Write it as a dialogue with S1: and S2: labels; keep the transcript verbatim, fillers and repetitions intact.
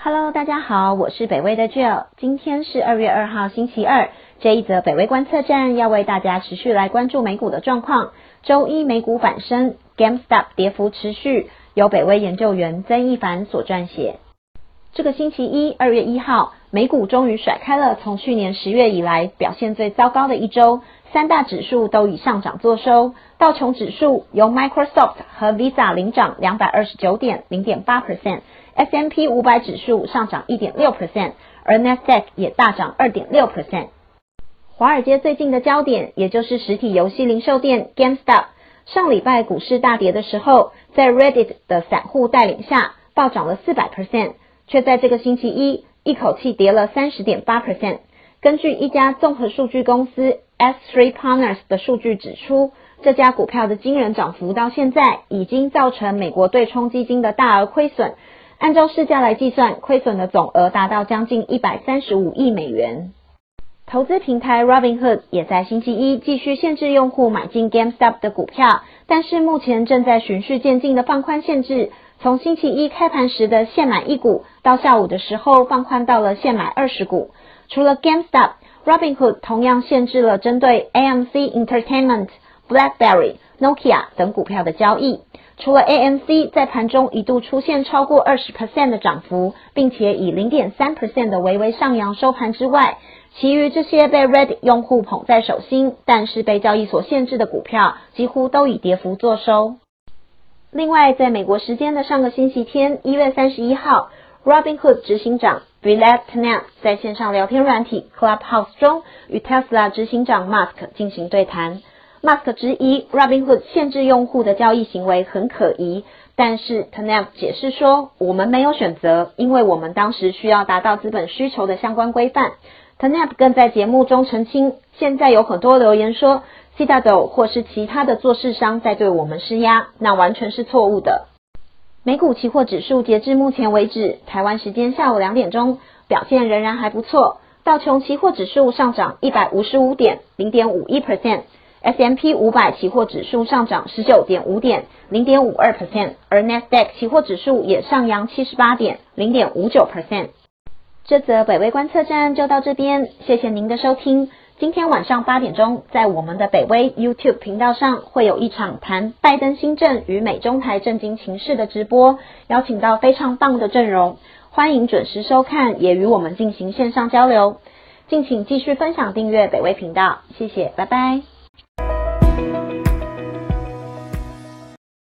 S1: Hello， 大家好，我是北威的 Jill， 今天是二月二号星期二，这一则北威观测站要为大家持续来关注美股的状况。周一美股反升 ，GameStop 跌幅持续，由北威研究员曾一凡所撰写。这个星期一，二月一号，美股终于甩开了从去年十月以来表现最糟糕的一周，三大指数都以上涨作收。道琼指数由 Microsoft 和 Visa 领涨 两百二十九点 零点八 percent，S and P 五百 指数上涨 一点六 percent， 而 Nasdaq 也大涨 二点六 percent。华尔街最近的焦点，也就是实体游戏零售店 GameStop， 上礼拜股市大跌的时候，在 Reddit 的散户带领下，暴涨了 百分之四百， 却在这个星期一一口气跌了 三十点八 percent。 根据一家综合数据公司 S 三 Partners 的数据指出，这家股票的惊人涨幅到现在已经造成美国对冲基金的大额亏损，按照市价来计算，亏损的总额达到将近一百三十五亿美元。投资平台 Robinhood 也在星期一继续限制用户买进 GameStop 的股票，但是目前正在循序渐进的放宽限制，从星期一开盘时的限买一股，到下午的时候放宽到了限买二十股。除了 GameStop，Robinhood 同样限制了针对 A M C Entertainment、BlackBerry、Nokia 等股票的交易。除了 A M C 在盘中一度出现超过 百分之二十 的涨幅，并且以 零点三 percent 的微微上扬收盘之外，其余这些被 Reddit 用户捧在手心，但是被交易所限制的股票，几乎都以跌幅作收。另外，在美国时间的上个星期天，一月三十一号 ，Robinhood 执行长 Vlad Tenev 在线上聊天软体 Clubhouse 中与 Tesla 执行长 Musk 进行对谈。Musk 质疑 Robinhood 限制用户的交易行为很可疑，但是 Tenev 解释说，我们没有选择，因为我们当时需要达到资本需求的相关规范。Tenev 更在节目中澄清，现在有很多留言说 Citadel 或是其他的做市商在对我们施压，那完全是错误的。美股期货指数截至目前为止，台湾时间下午两点钟，表现仍然还不错。道琼期货指数上涨一百五十五点 零点五一 percent，S and P 五百 期货指数上涨 十九点五点 零点五二 percent， 而 Nasdaq 期货指数也上扬七十八点 零点五九 percent。 这则北威观测站就到这边，谢谢您的收听。今天晚上八点钟，在我们的北威 YouTube 频道上会有一场谈拜登新政与美中台政经情势的直播，邀请到非常棒的阵容，欢迎准时收看，也与我们进行线上交流。敬请继续分享订阅北威频道，谢谢，拜拜。